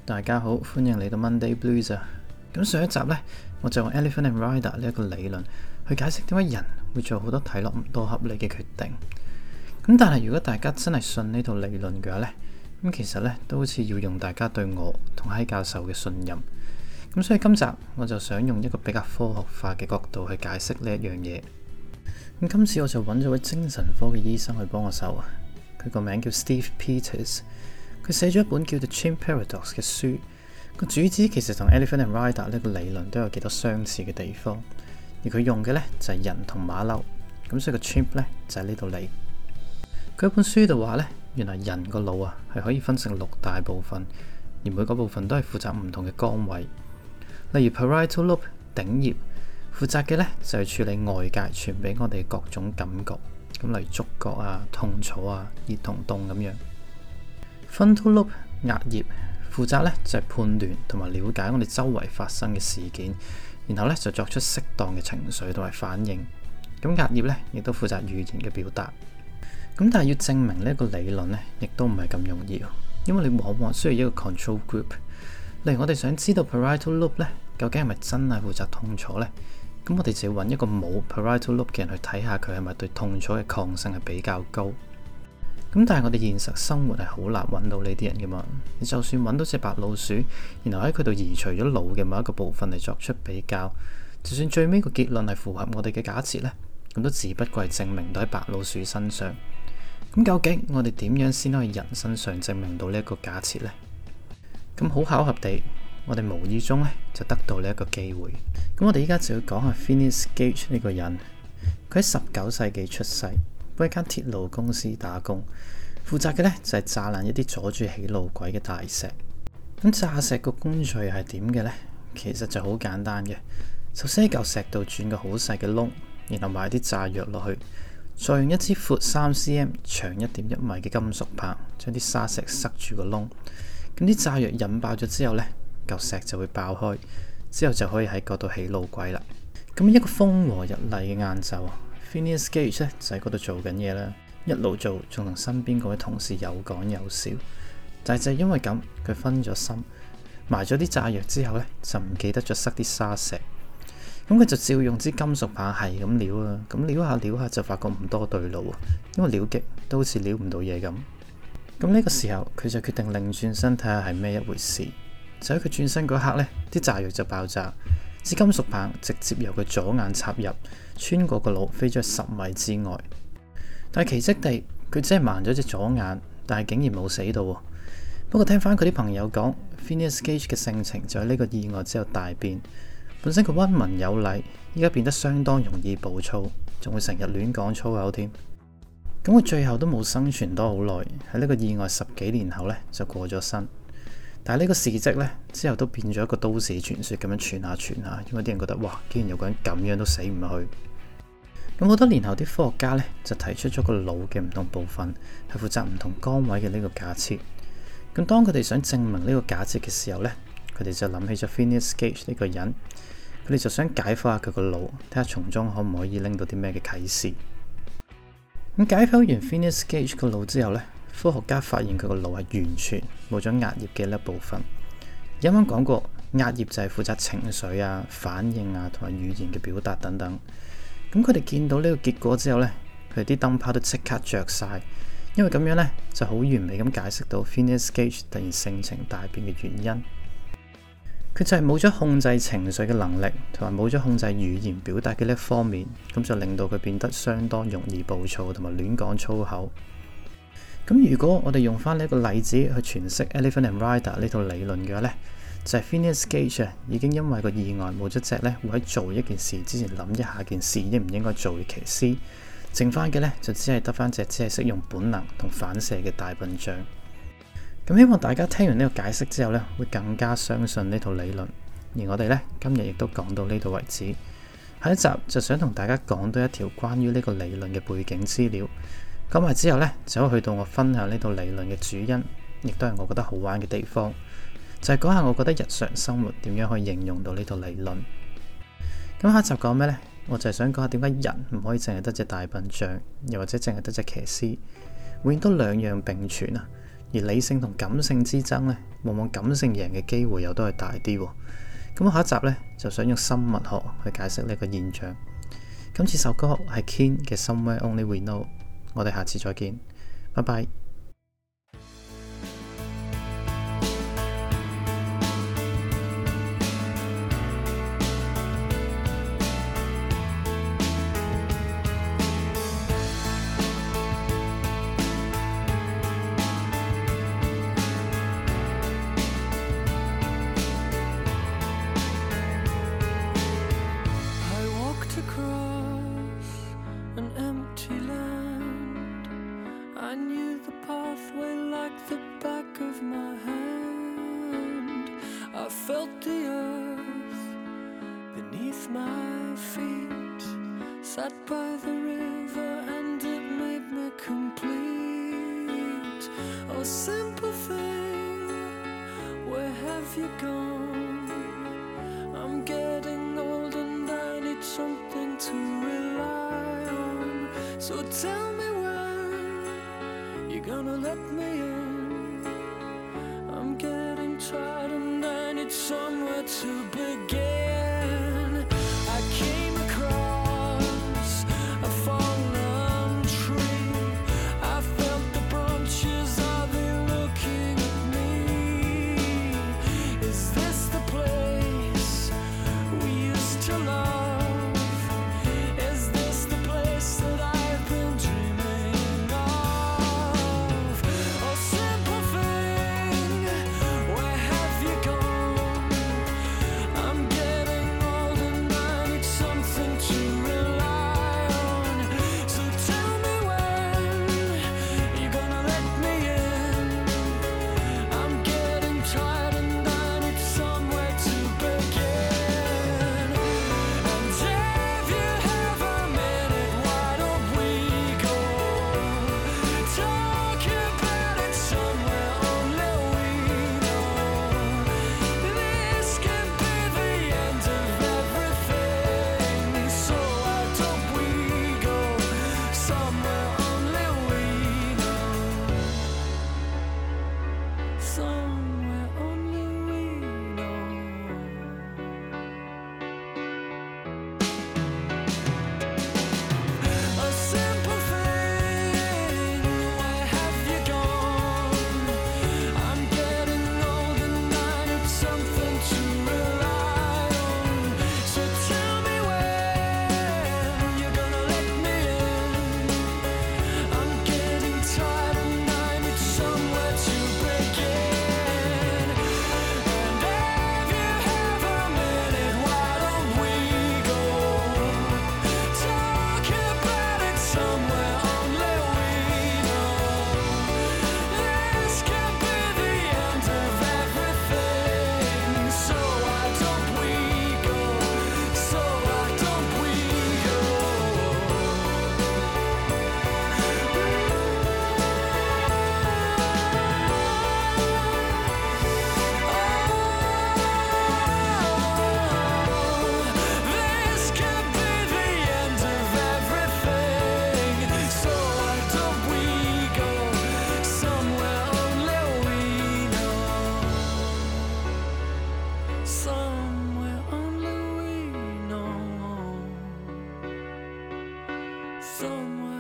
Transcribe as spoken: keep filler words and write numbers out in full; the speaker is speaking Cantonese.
大家好，歡迎嚟到 Monday Blues 啊！咁上一集呢，我就用 Elephant and Rider 呢一個理論去解釋點解人會做好多睇落唔多合理嘅決定。咁但係如果大家真係信呢套理論嘅話呢，咁其實呢都好似要用大家對我同希教授嘅信任。咁所以今集我就想用一個比較科學化嘅角度去解釋呢一樣嘢。咁今次我就揾咗位精神科嘅醫生去幫我手啊，佢個名叫 Steve Peters。佢寫咗一本叫做《Chimp Paradox》嘅書，個主旨其實同 Elephant and Rider 呢個理論都有幾多相似嘅地方，而佢用嘅呢就係人同馬騮，咁所以個 chimp 呢就係呢度嚟。佢喺本書度話呢，原來人個腦啊係可以分成六大部分，而每個部分都係負責唔同嘅崗位。例如 Parietal Lobe 頂葉負責嘅呢就係處理外界傳俾我哋各種感覺，咁例如觸覺啊、痛楚啊、熱同凍咁樣。Frontal Lobe 額葉負責咧就係判斷同埋了解我哋周圍發生嘅事件，然後咧就作出適當嘅情緒同埋反應。咁額葉咧亦都負責語言嘅表達。咁但係要證明呢一個理論咧，亦都唔係咁容易，因為你往往需要一個 control group。例如我哋想知道 Parietal Lobe 咧究竟係咪真係負責痛楚咧，咁我哋就要揾一個冇 Parietal Lobe 嘅人去睇下佢係咪對痛楚嘅抗性係比較高。咁但係我哋現實生活係好難揾到呢啲人噶嘛，你就算揾到隻白老鼠，然後喺佢度移除咗腦嘅某一個部分嚟作出比較，就算最尾個結論係符合我哋嘅假設呢，咁都只不過係證明到喺白老鼠身上。咁究竟我哋點樣先可以人身上證明到呢一個假設呢？咁好巧合地，我哋無意中呢就得到呢一個機會。咁我哋依家就要講下 Phineas Gage 呢個人，佢喺十九世紀出世。幫一間鐵路公司打工，負責嘅呢就係炸爛一啲阻住起路軌嘅大石。咁炸石個工序係點嘅呢？其實就好簡單嘅，首先喺嚿石度鑽個好細嘅窿，然後埋啲炸藥落去，再用一支闊三 cm、長一點一米嘅金屬棒，將啲沙石塞住個窿。咁啲炸藥引爆咗之後呢，嚿石就會爆開，之後就可以喺嗰度起路軌啦。咁一個風和日麗嘅晏晝Phineas Gage 咧就喺嗰度做緊嘢啦，一路做仲同身邊嗰位同事有講有笑，但係就係因為咁，佢分咗心，埋咗啲炸藥之後呢，就唔記得咗塞啲沙石，咁佢就照用支金屬棒係咁撩啊，咁撩下撩下就發覺唔多對路啊，因為撩極都好似撩唔到嘢咁。咁呢個時候佢就決定擰轉身睇下係咩一回事，就喺佢轉身嗰刻呢，啲炸藥就爆炸。支金屬棒直接由佢左眼插入，穿過個腦飛咗去十米之外。但係奇蹟地，佢只係盲咗隻左眼，但係竟然冇死到。不過聽翻佢啲朋友講 Phineas Gage 嘅性情就喺呢個意外之後大變。本身佢溫文有禮，依家變得相當容易暴躁，仲會成日亂講粗口添。咁佢最後都冇生存多好耐，喺呢個意外十幾年後呢，就過咗身。但係呢個事蹟呢，之後都變咗一個都市傳說咁樣傳下傳下，因為啲人覺得哇，竟然有個人咁樣都死唔去。咁好多年後啲科學家呢，就提出咗個腦嘅唔同部分係負責唔同崗位嘅呢個假設。咁當佢哋想證明呢個假設嘅時候呢，佢哋就諗起咗 Phineas Gage 呢個人，佢哋就想解剖下佢個腦，睇下從中可唔可以拎到啲咩嘅啟示。咁解剖完 Phineas Gage 個腦之後呢，科學家發現佢個腦係完全冇咗額葉嘅一部分。啱啱講過，額葉就係負責情緒啊、反應啊同埋語言嘅表達等等。咁佢哋見到呢個結果之後呢，佢哋啲燈泡都即刻着晒，因為咁樣呢就好完美咁解釋到 Phineas Gage 突然性情大變嘅原因。佢就係冇咗控制情緒嘅能力，同埋冇咗控制語言表達嘅呢一方面，咁就令到佢變得相當容易暴躁同埋亂講粗口。咁如果我哋用翻呢一個例子去詮釋 Elephant and Rider 呢套理論嘅話呢，就係 Phineas Gage 已經因為個意外冇咗隻呢會喺做一件事之前諗一下件事應唔應該做嘅騎師，剩翻嘅呢就只係得翻隻只係識用本能同反射嘅大笨象。咁希望大家聽完呢個解釋之後呢，會更加相信呢套理論。而我哋呢，今日亦都講到呢度為止。下一集就想同大家講多一條關於呢個理論嘅背景資料。講埋之後呢，就可以去到我分享呢套理論嘅主因，亦都係我覺得好玩嘅地方，就係講下我覺得日常生活點樣可以應用到呢套理論。咁下一集講咩呢？我就係想講下點解人唔可以淨係得隻大笨象，又或者淨係得隻騎師，永遠都兩樣並存啊！ 而理性同感性之爭呢，往往感性贏嘅機會又都係大啲喎。咁下一集呢，就想用生物學去解釋呢個現象。今次首歌係 Keane 嘅 Somewhere Only We Know， 我哋下次再見，拜拜。 I felt the earth beneath my feet, sat by the river and it made me complete. Oh, simple thing, where have you gone? I'm getting old and I need something to rely on. So tell me when you're gonna let me in. I'm getting tired and I need somewhere to begin. I came across a fallen tree. I felt the branches of it looking at me. Is this the place we used to love? Is this the place that I've been dreaming of? Oh, simple thing, where have you gone? I'm getting old and I need something to rely on. So tell me when you're gonna let me in. I'm getting tired and I need somewhere to begin. And if you have a minute, why don't we go talk about it somewhere only we know? This could be the end of everything. So why don't we go somewhere only we know? Somewhere only we know. A simple thing, where have you gone? I'm getting old and I need something to rely on. So tell me when you're gonna let me in. I'm getting tired and I need somewhere to begin. And if you have a minute, why don't we go talk about it somewhere only we know? This could be the end of everything. So why don't we go? So why don't we go? This could be the end of everything. So why don't we go somewhere only we know? Somewhere only we know. Somewhere